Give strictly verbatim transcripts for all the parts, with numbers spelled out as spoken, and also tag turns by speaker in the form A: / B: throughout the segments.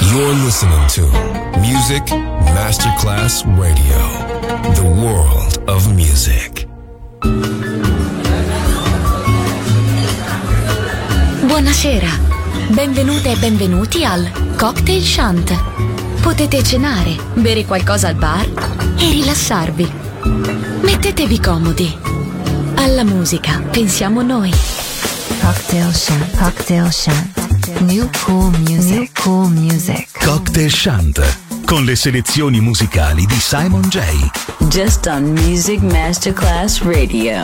A: You're listening to Music Masterclass Radio, the world of music.
B: Buonasera, benvenute e benvenuti al Cocktail Shant. Potete cenare, bere qualcosa al bar e rilassarvi. Mettetevi comodi. Alla musica pensiamo noi.
C: Cocktail Shant, Cocktail Shant. New cool music, New cool music.
D: Cocktail Shant, con le selezioni musicali di Simon J.
E: Just on Music Masterclass Radio.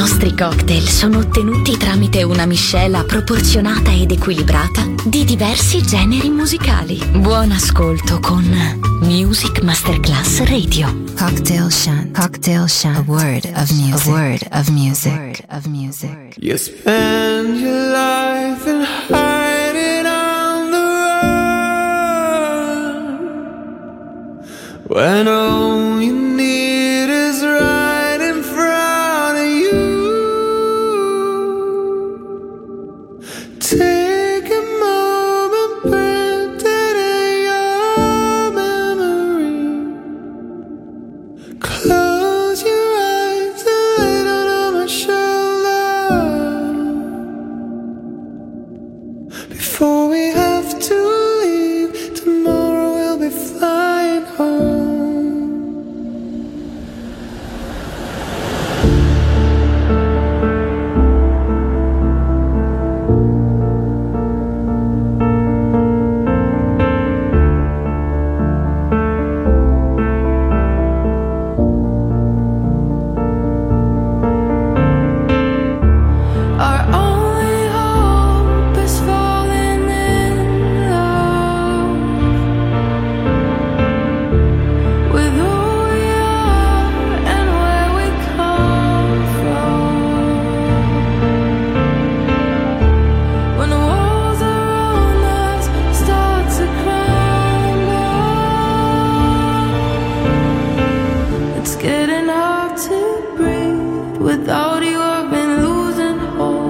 B: nostri cocktail sono ottenuti tramite una miscela proporzionata ed equilibrata di diversi generi musicali. Buon ascolto con Music Masterclass Radio.
C: Cocktail Shant. Cocktail Shant. A word of music. A word of music. A word of music.
F: You spend your life in hiding on the run, when all you need is right in front of you. Take a moment, print it in your memory. Close your eyes and lay down on my shoulder. Before we have to leave, tomorrow we'll be flying home.
G: Our only hope is falling in love with who we are and where we come from. When the walls around us start to crumble, it's getting hard to breathe without you. I've been losing hope.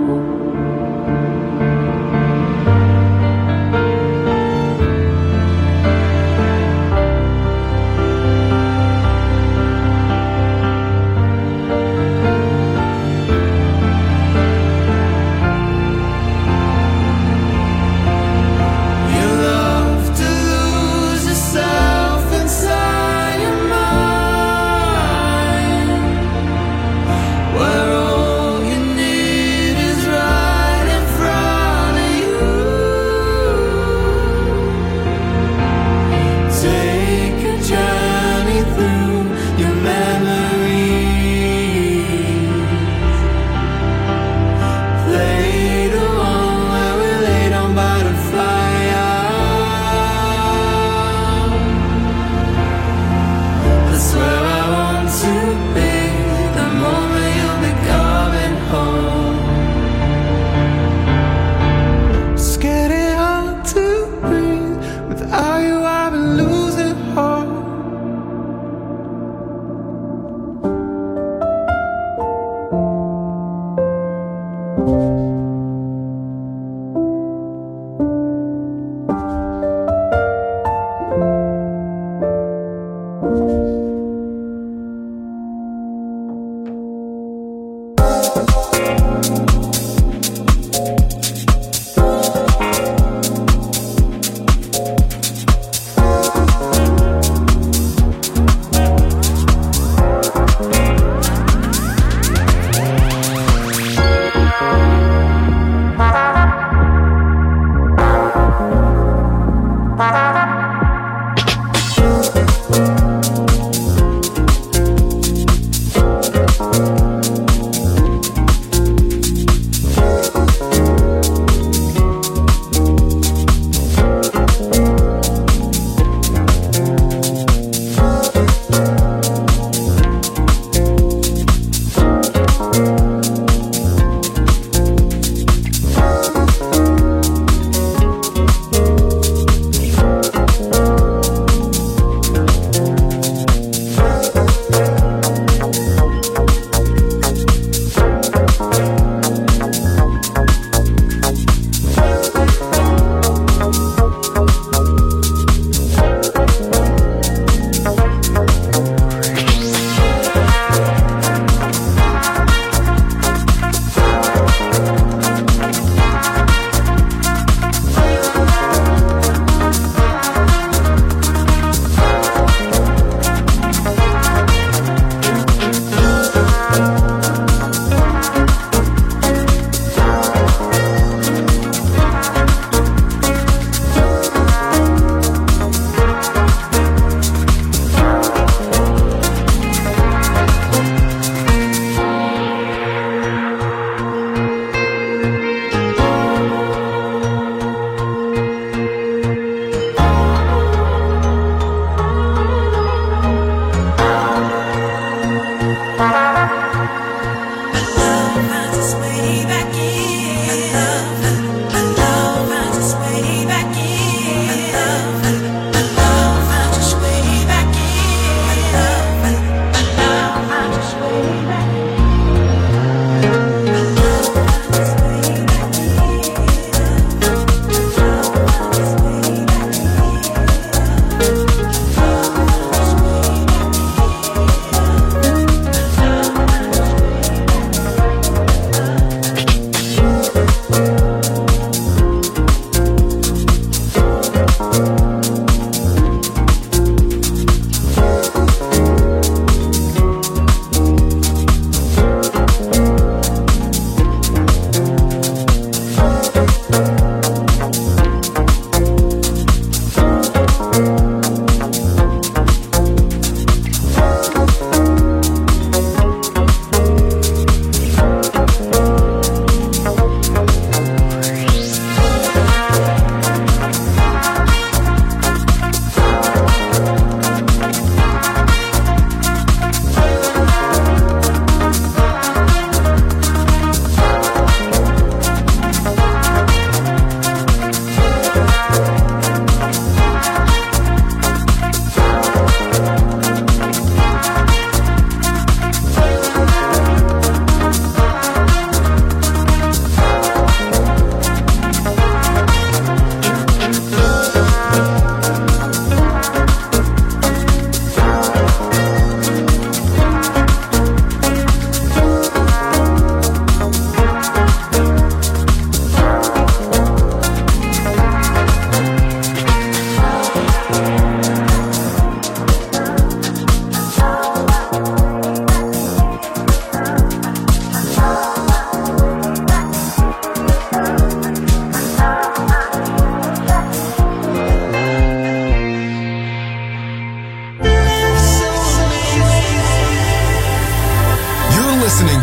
G: You love to lose yourself inside your mind.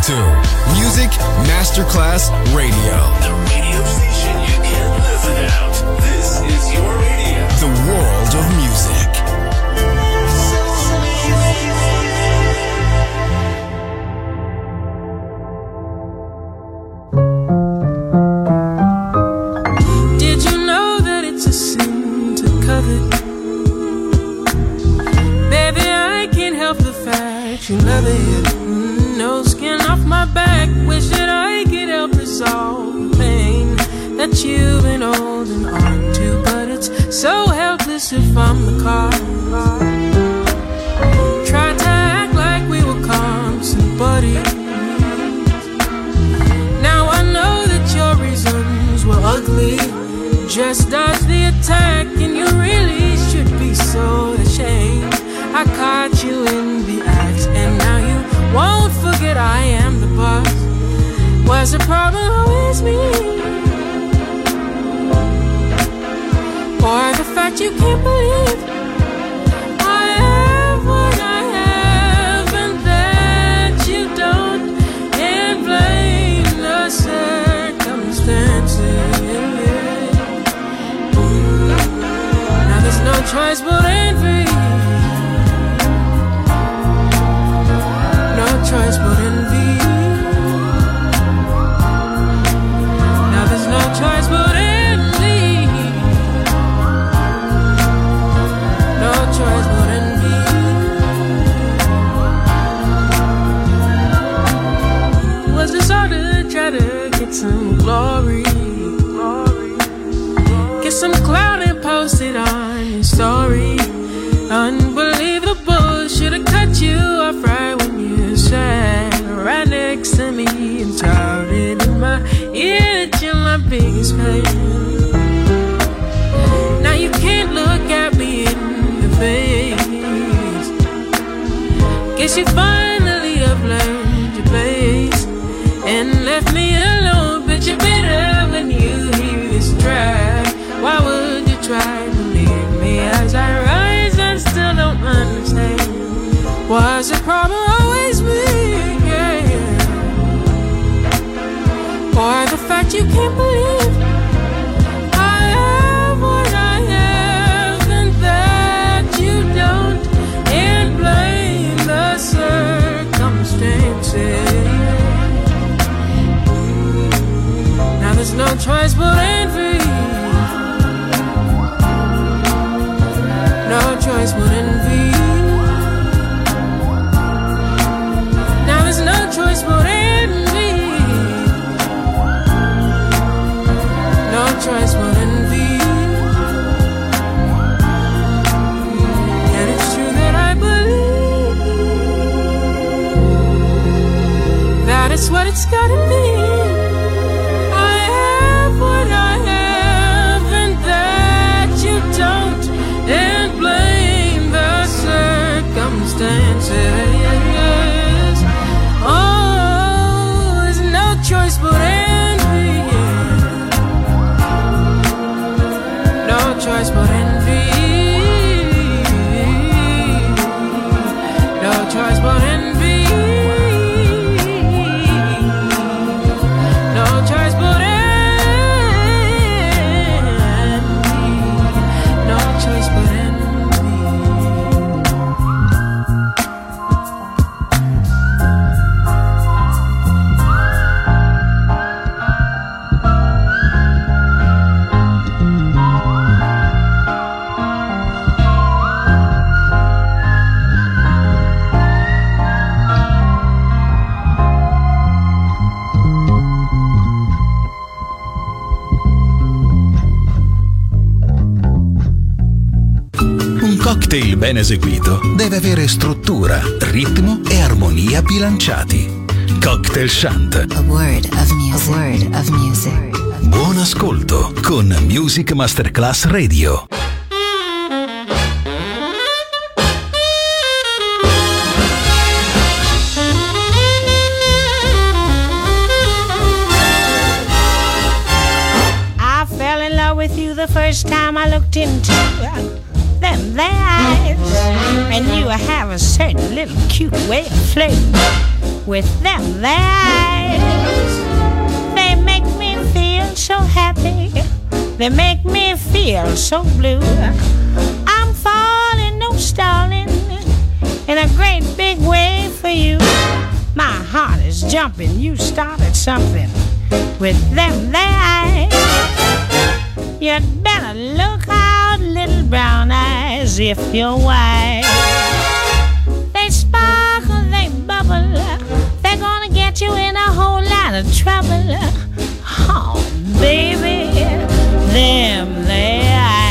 A: to Music Masterclass Radio.
H: The radio station you can't live without. This is your radio.
A: The world of music.
G: Did you know that it's a sin to covet? Baby, I can't help the fact you love it. Mm, no skin off my back. Wish that I could help resolve the pain that you've been holding on to, but it's so helpless if I'm the cause. Tried to act like we were constant buddies. Now I know that your reasons were ugly. Just dodge the attack, and you really should be so ashamed. I caught you in the act, and now you won't forget I am the boss. Was the problem always me? Or the fact you can't believe I have what I have and that you don't, and blame the circumstances. Now there's no choice but envy. No choice but envy. Now there's no choice but envy. No choice but envy. Was this all to try to get some glory? Get some clout and post it on your story. Unbelievable, should've cut you off right when you sat right next to me and shouted in my ear that you're my biggest fan. Now you can't look at me in the face. Guess you finally have learned your place and left me alone, but you're better when you hear this track. Why would you try to leave me as I rise and still don't understand? Was the problem always me? Yeah. Or the fact you can't believe I have what I have and that you don't, and blame the circumstances. Now there's no choice but envy. No choice but envy. Now there's no choice but envy. No choice but envy. And it's true that I believe that it's what it's gotta be. I have what I have and that you don't, and blame the circumstances. Oh, there's no choice but envy. No choice but envy. No choice but envy. No choice but envy. No choice but envy.
D: cocktail ben eseguito deve avere struttura, ritmo e armonia bilanciati. Cocktail Chant.
C: A word of music. A word of music.
D: Buon ascolto con Music Masterclass Radio.
I: I fell in love with you the first time I looked into them there eyes. And you have a certain little cute way of flirting with them their eyes. They make me feel so happy, they make me feel so blue. I'm falling, no stalling, in a great big way for you. My heart is jumping, you started something with them their eyes. You'd better look out, little brown eyes, if you're wise. They sparkle, they bubble, they're gonna get you in a whole lot of trouble. Oh, baby, them their eyes.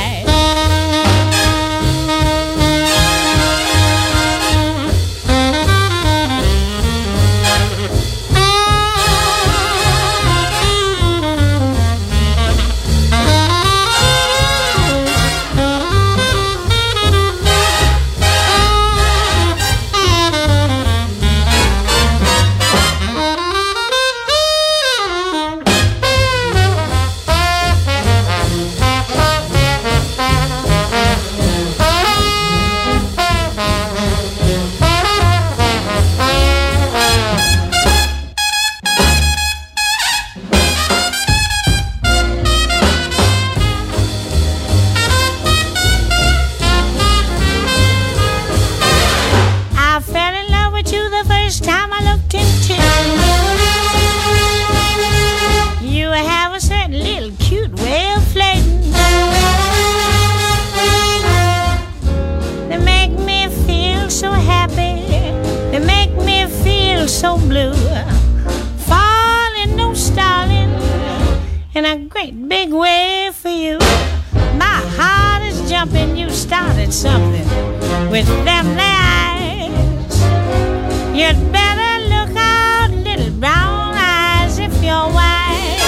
I: So blue, falling, no stalling, in a great big way for you. My heart is jumping, you started something with them there eyes. You'd better look out, little brown eyes, if you're wise.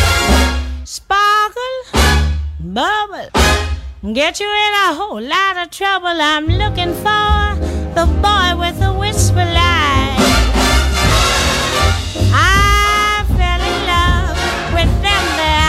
I: Sparkle, bubble, get you in a whole lot of trouble. I'm looking for the boy with the whisper line. I fell in love with them there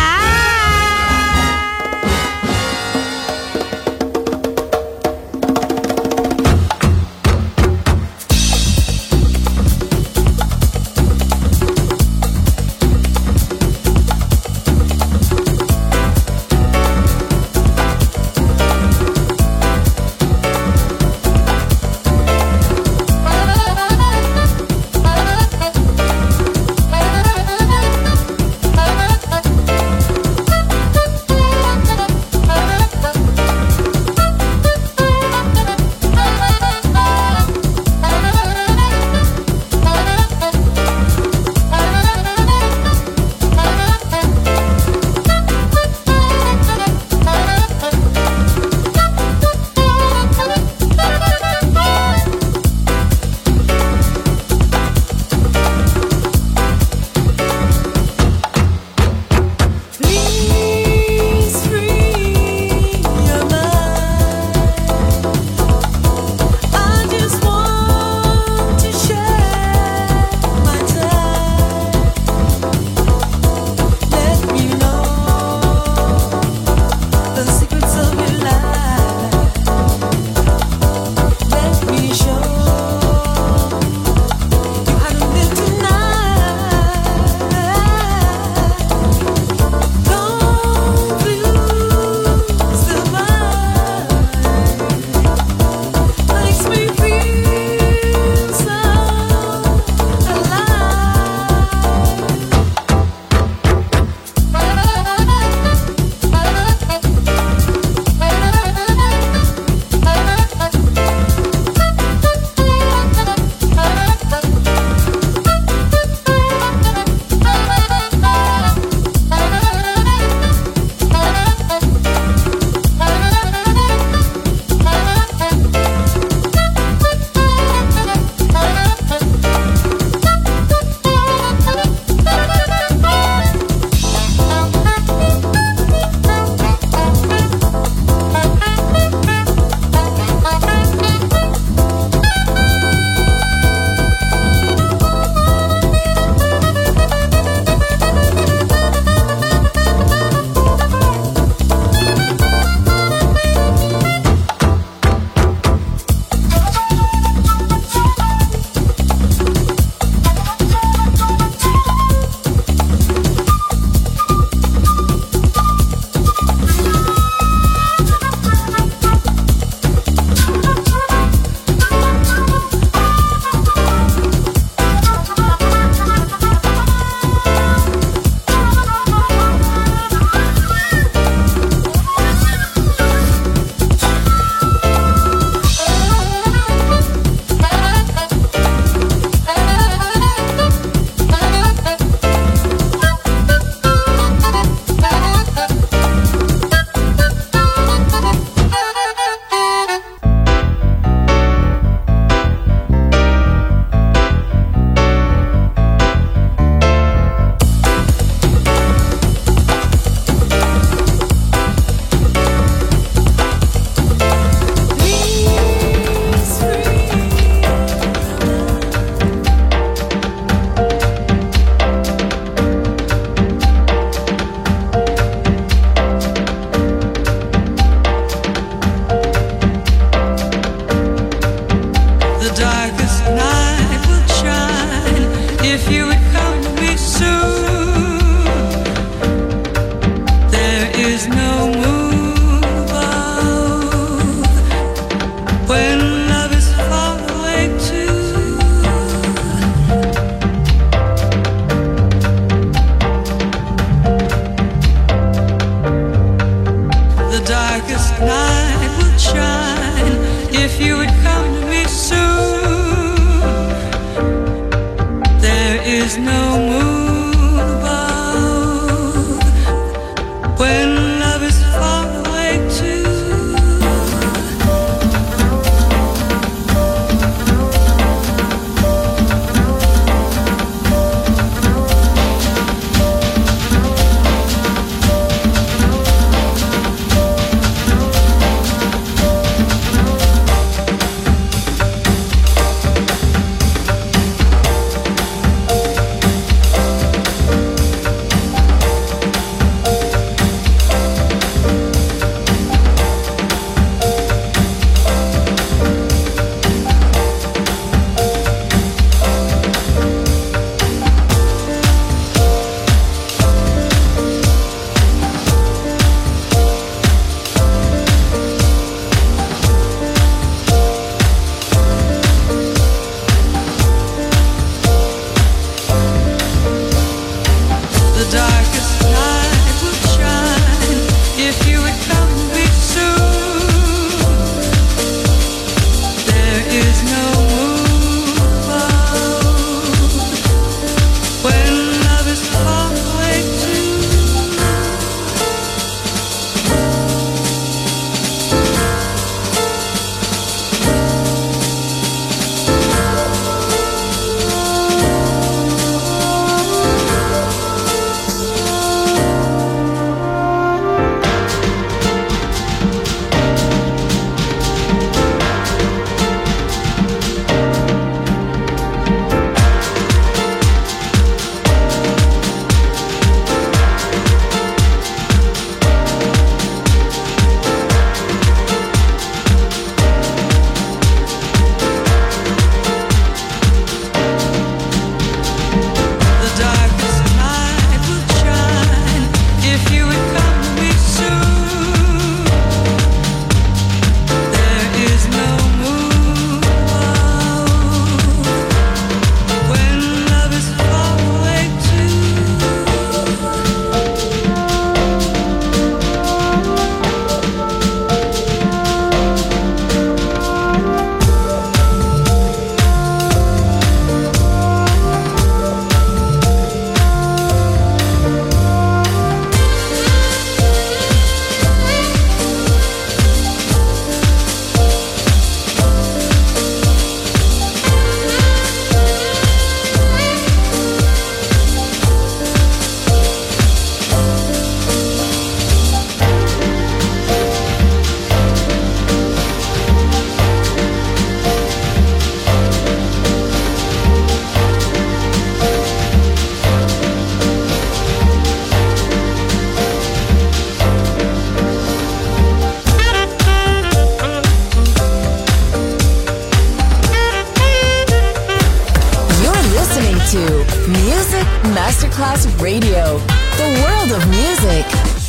E: Masterclass Radio, the world of music.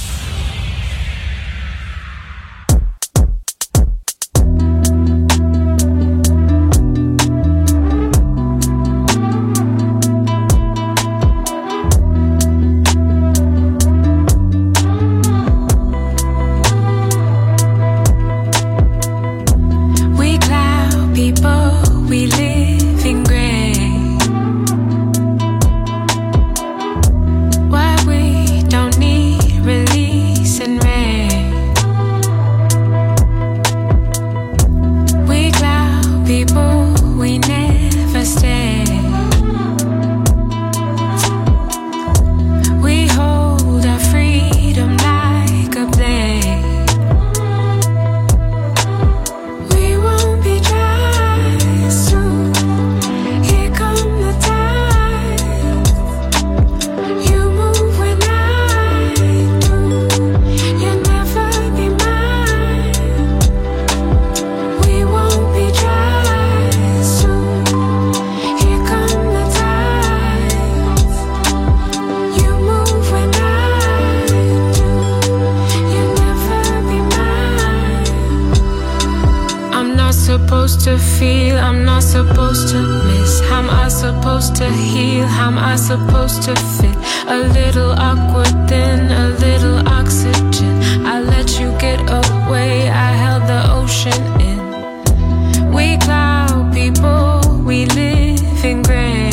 G: To feel, I'm not supposed to miss. How am I supposed to heal? How am I supposed to fit? A little awkward, then a little oxygen. I let you get away, I held the ocean in. We cloud people, we live in gray.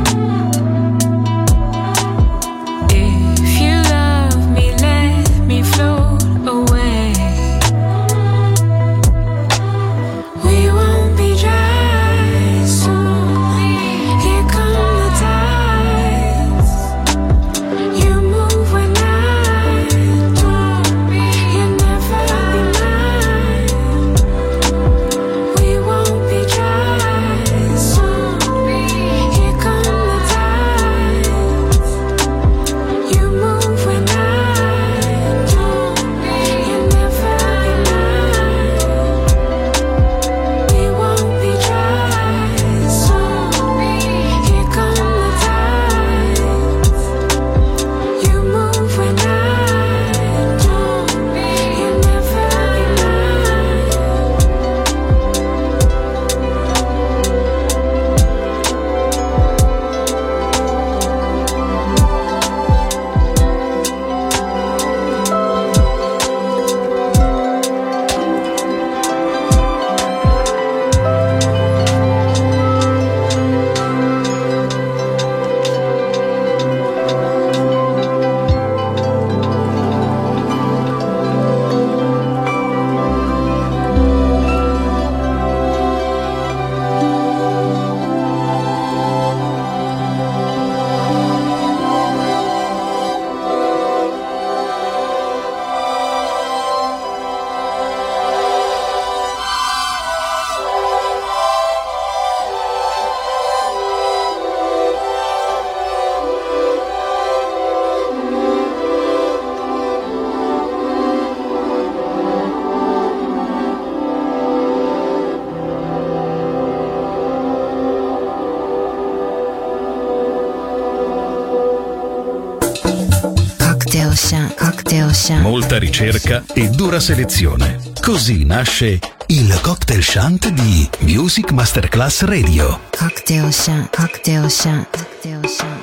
G: If you love me, let me float away.
D: Molta ricerca e dura selezione. Così nasce il Cocktail Shant di Music Masterclass Radio.
C: Cocktail Shant, Cocktail Shant, Cocktail Shant.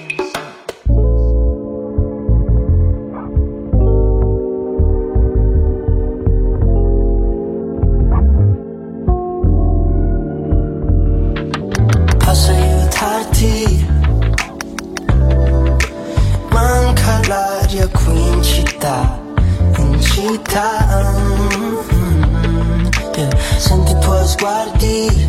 J: Posso aiutarti? Manca l'aria qui in città, in città. Mm-hmm. Yeah. Senti i tuoi sguardi,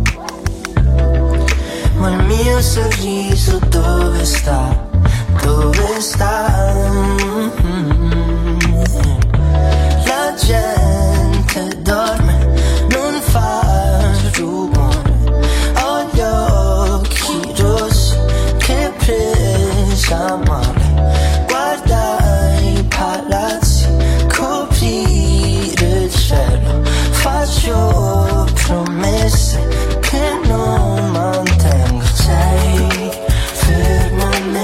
J: ma il mio sorriso dove sta? Dove sta? Mm-hmm. La gente dorme, non fa rumore. Ho gli occhi rossi che presa male. Guarda i palazzi, coprire il cielo. Faccio promesse che non mantengo. Sei fermo nel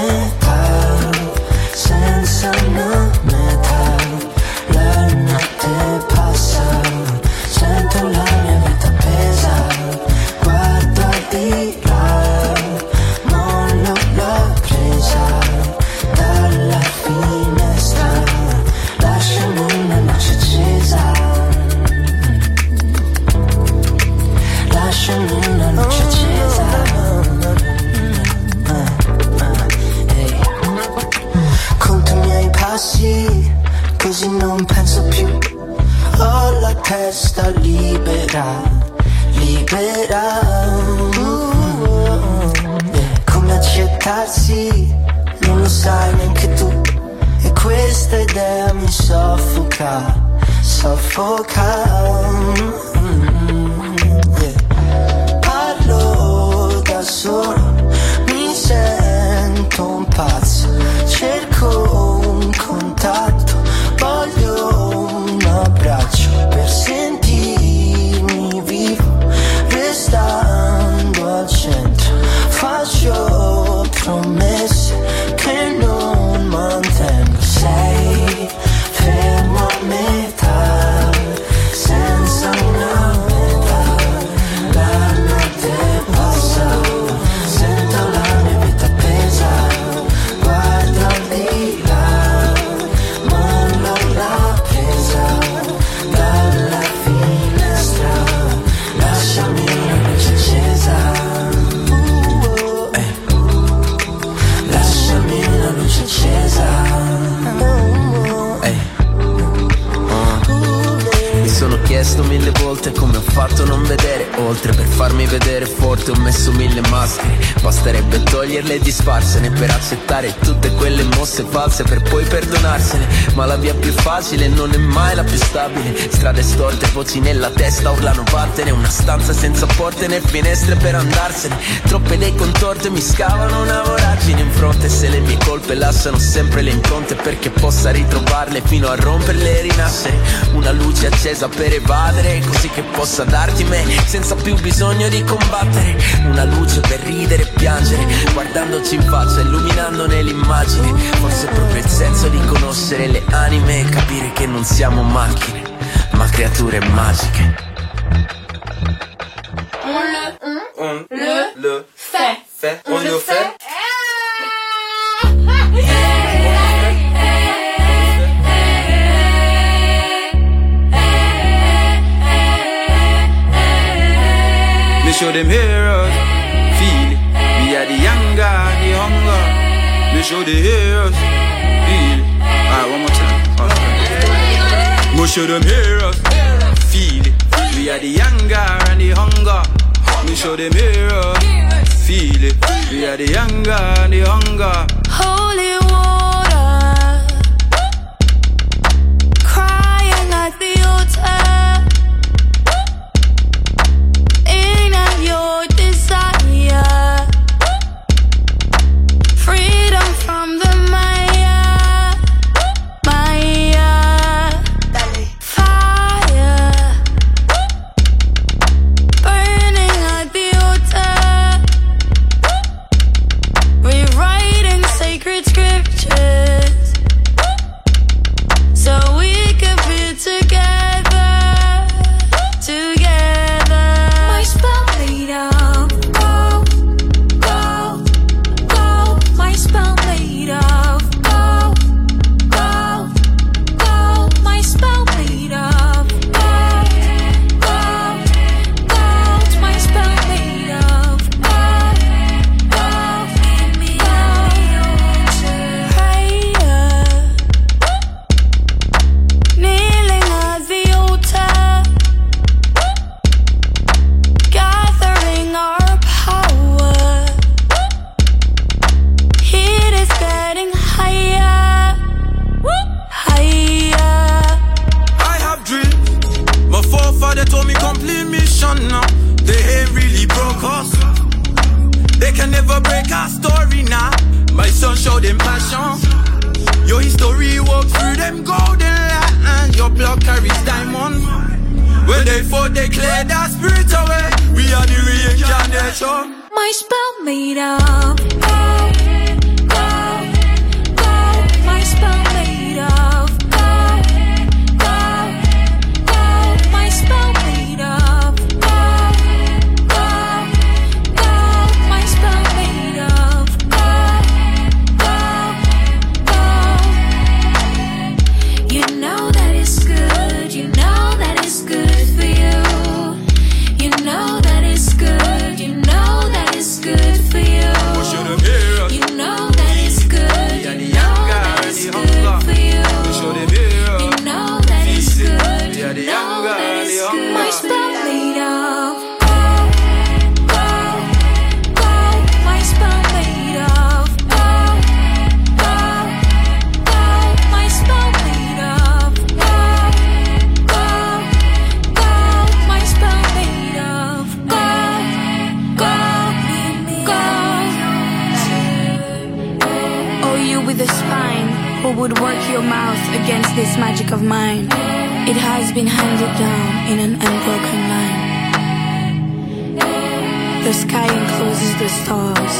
J: libera, libera. Yeah. Come accettarsi, non lo sai neanche tu. E questa idea mi soffoca, soffoca. Mm-hmm. Yeah. Parlo da solo, mi sento un pazzo, cerco un contatto, voglio un abbraccio per sentirmi vivo, restando al centro. Faccio promesse che non mantengo. Sei fermo a metà, senza una metà. La notte passa, sento la mia vita pesa. Guarda di là, mollo la presa dalla finestra. Lasciami una luce accesa. Luce accesa. Ehi. Uh. Mi sono chiesto mille volte come ho fatto a non vedere oltre. Per farmi vedere forte ho messo mille maschere. Basterebbe toglierle e disfarsene per accettare tutte quelle mosse false, per poi perdonarsene. Ma la via più facile non è mai la più stabile. Strade storte, voci nella testa urlano vattene. Una stanza senza porte né finestre per andarsene. Troppe idee contorte mi scavano una voragine in fronte. Se le mie colpe lasciano sempre le impronte, perché possa ritrovarle fino a romperle e rinascere. Una luce accesa per evadere, così che possa darti me senza più bisogno di combattere. Una luce per ridere e piangere, guardandoci in faccia, illuminandone l'immagine. Forse è proprio il senso di conoscere le anime e capire che non siamo macchine, ma creature magiche.
K: On le, on le, le fait, fait, on le fait.
F: Me show them heroes, feel it. We are the younger, the hunger. Me show the heroes, feel it. Alright, one more time. Okay. Me show them heroes, feel it. We are the younger and the hunger. Me show them heroes, feel it. We are the younger and the hunger.
L: Holy water, crying at the altar. Your desire, freedom from the Maya, Maya, fire, burning at the altar, rewriting sacred scriptures, so we could be together, together. My spell made of gold, gold, gold. My spell made of gold, gold, gold. My spell made of gold, gold, gold. My spell made of gold, gold. Give me gold. Prayer, kneeling at the altar, gathering our power. Heat is getting higher, higher.
F: I have dreams. My forefather told me complete mission now. They ain't really broke us. They can never break our story now. My son showed them passion. Your history walk through them golden lines. Your blood carries diamond. When they fought, they cleared our spirit away. We are the reincarnation.
L: My spell made of gold, gold, gold. My spell made of gold, gold, gold. My spell made of gold, gold, gold. My spell made of gold, gold, gold. You know that it's good. You know that it's good for you. You know that it's good. You know that it's good for you.
F: What should have been?
M: would work your mouth against this magic of mine. It has been handed down in an unbroken line. The sky encloses the stars.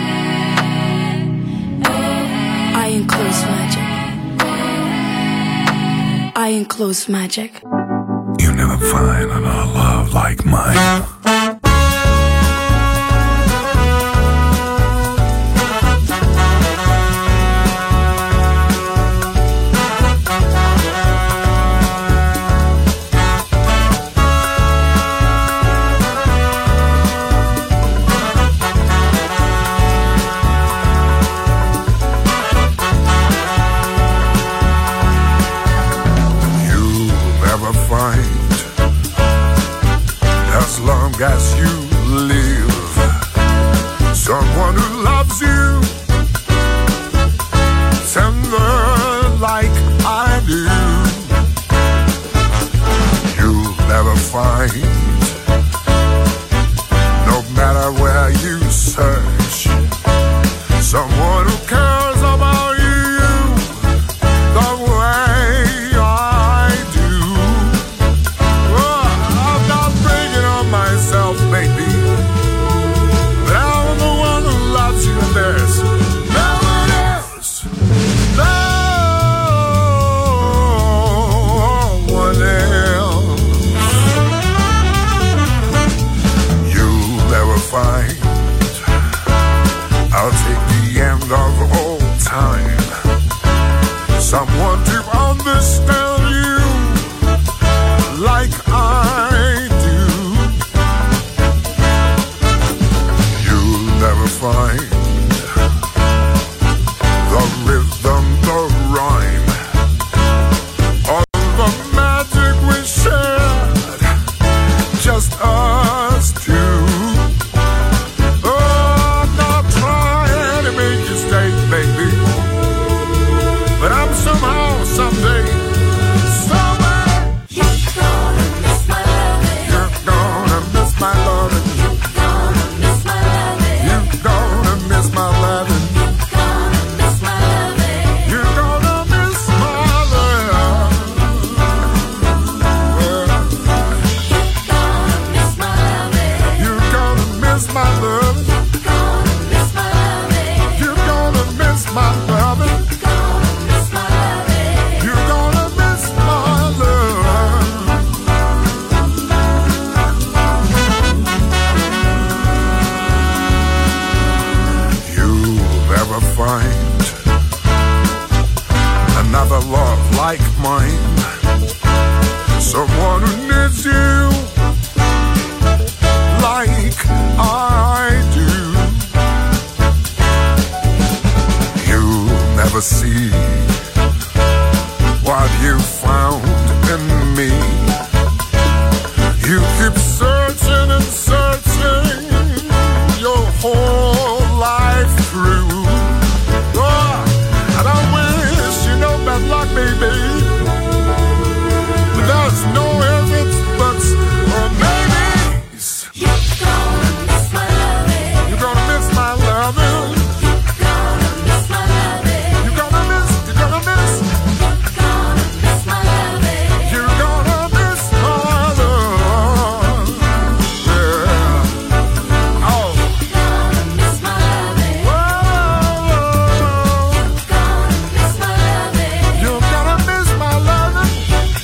M: I enclose magic. I enclose magic.
N: You never find another love like mine. As you live, someone who loves you tender like I do. You'll never find, no matter where you search, someone who cares about you the way I do. Oh, I'm not bringing on myself, baby, but I'm the one who loves you, and there's no one else, no one else. You'll never find, I'll take the end of all time, someone to understand you like I do. You'll never find the rhythm, the rhyme, all the magic we shared, just us two. Oh, I'm not trying to make you stay, baby, but I'm somehow, someday, somewhere, you're gonna miss my loving. You're gonna miss my loving. You're gonna miss my loving. You're gonna miss my loving. You're gonna miss my love. You're gonna miss my love. You're gonna miss my loving. You're gonna miss my love. You'll never find another love like mine, someone who needs you like I do. You'll never see what you found in me. You keep searching and searching your whole life through. Oh, and I wish you no bad luck, baby, but there's no ifs, it's buts, or maybes. You're gonna miss my loving. You're gonna miss my loving. You're gonna miss, you're gonna miss. You're gonna miss my love. Yeah. Oh. Whoa. You're gonna miss my loving.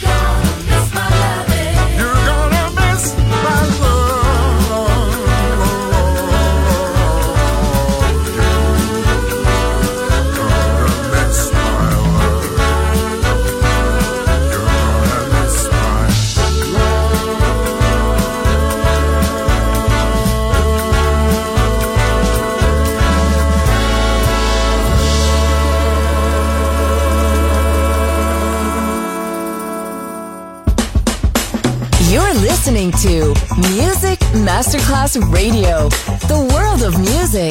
N: You're gonna miss my love.
E: You're listening to Music Masterclass Radio, the world of music.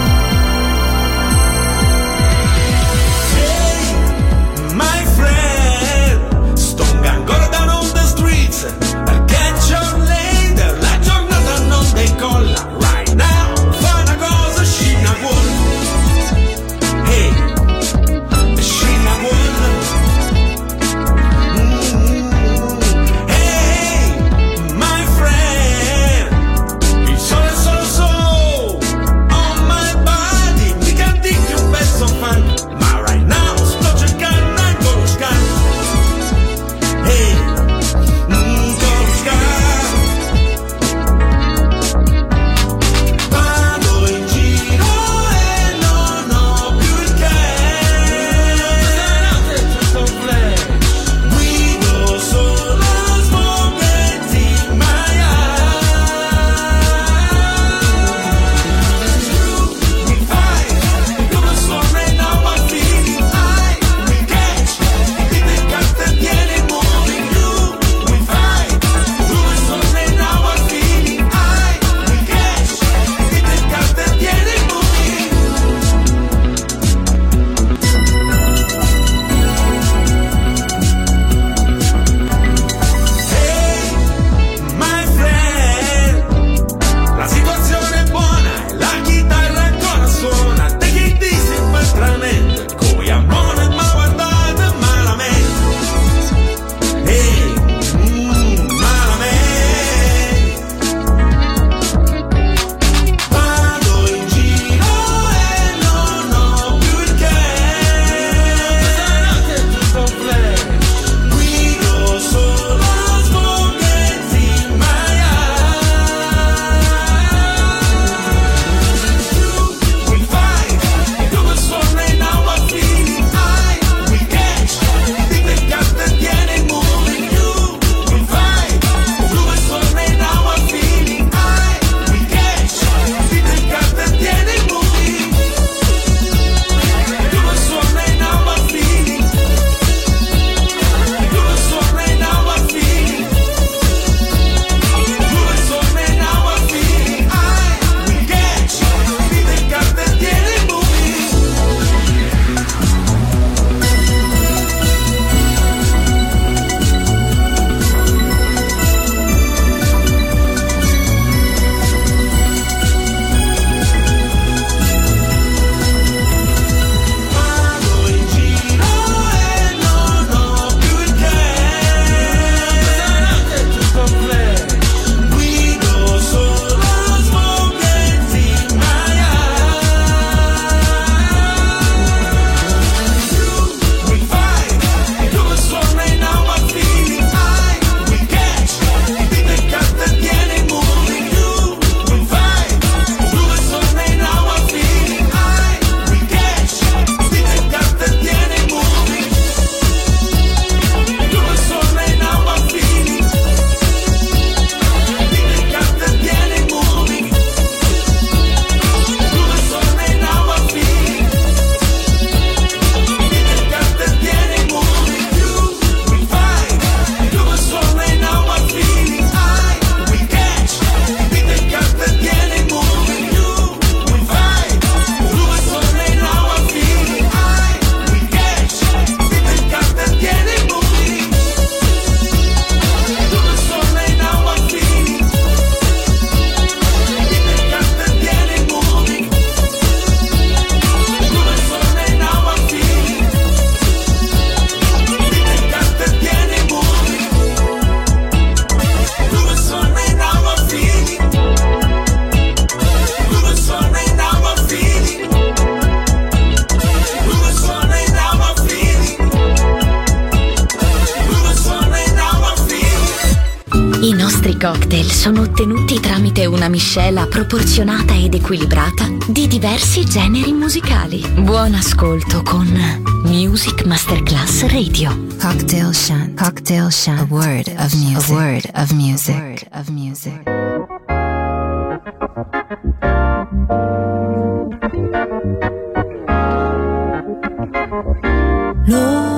F: My friend,
B: cocktail sono ottenuti tramite una miscela proporzionata ed equilibrata di diversi generi musicali. Buon ascolto con Music Masterclass Radio.
C: Cocktail Shant. Cocktail Shant. A word of music. A word of music. A word of music.
L: No.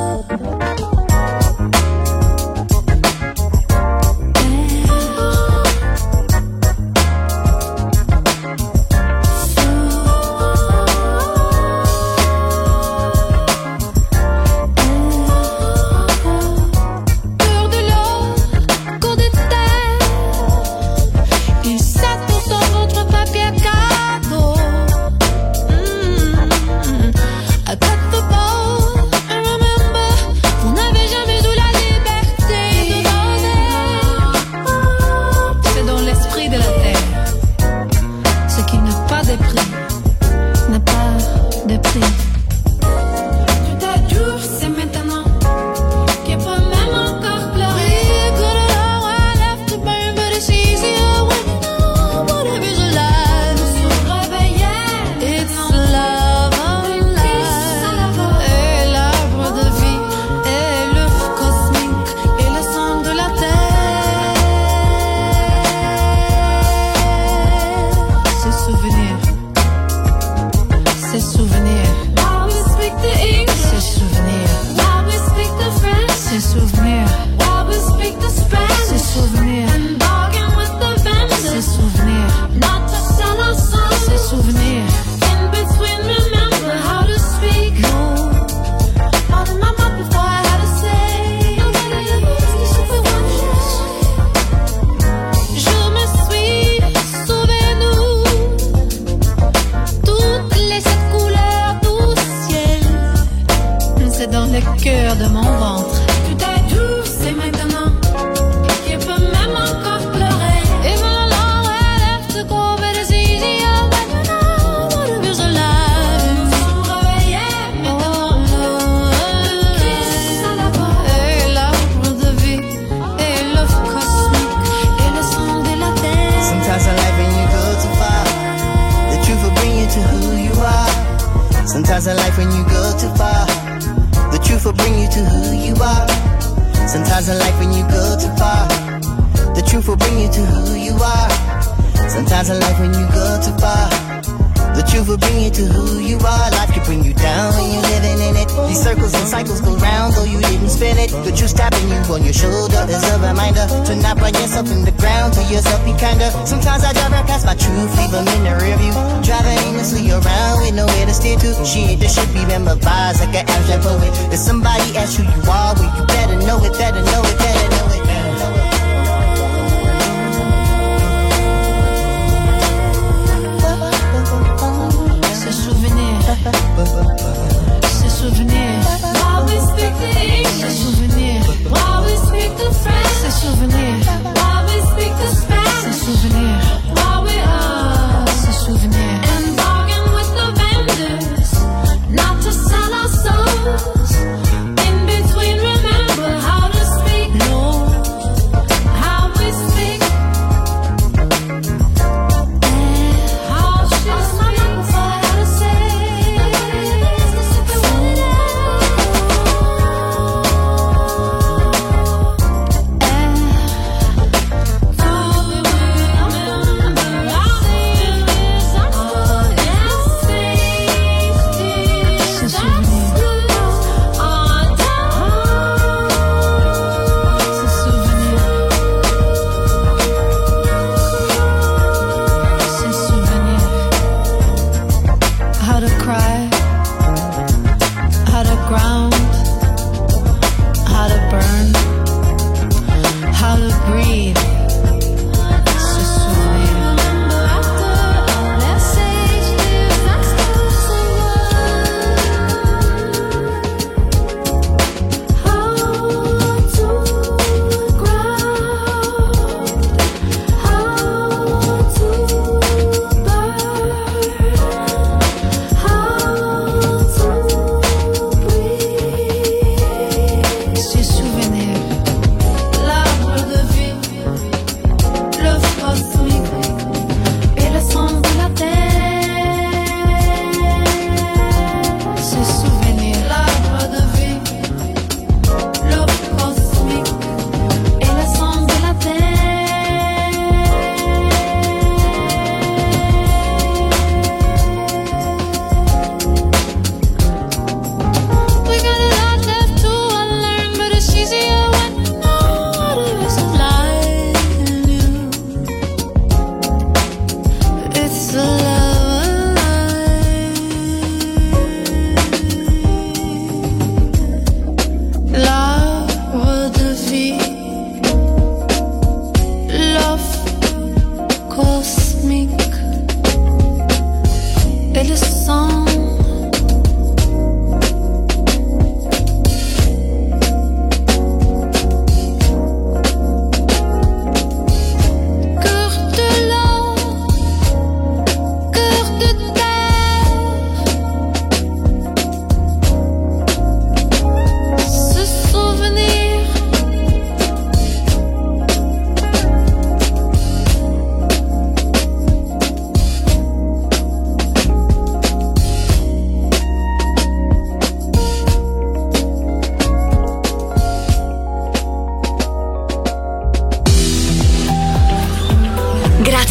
O: Sometimes in life when you go too far, the truth will bring you to who you are. Sometimes in life when you go too far, the truth will bring you to who you are. Sometimes in life when you go too far, the truth will bring you to who you are. Life can bring you down when you're living in it. These circles and cycles go round though you didn't spin it. The truth tapping you on your shoulder is a reminder to not run yourself in the ground, to yourself be kinder. Sometimes I drive right past my truth, leave them in the rear view, driving aimlessly around with nowhere to steer to. Shit, this should be memorized like an abstract poet. If somebody asks who you are, well you better know it, better know it, better know it.
L: Ces souvenirs. While we speak the English. Ces souvenirs. While we speak the French. Ces souvenirs. While we speak the Spanish. Ces souvenirs. While we are. Ces souvenirs. And bargain with the vendors, not to sell our souls. In between, remember how to speak. No.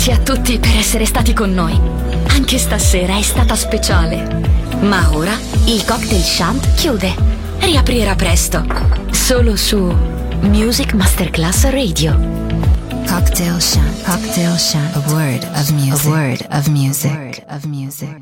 B: Grazie a tutti per essere stati con noi. Anche stasera è stata speciale. Ma ora il Cocktail Shant chiude. Riaprirà presto. Solo su Music Masterclass Radio.
C: Cocktail Shant. Cocktail Shant. A word of music. A word of music. A word of music.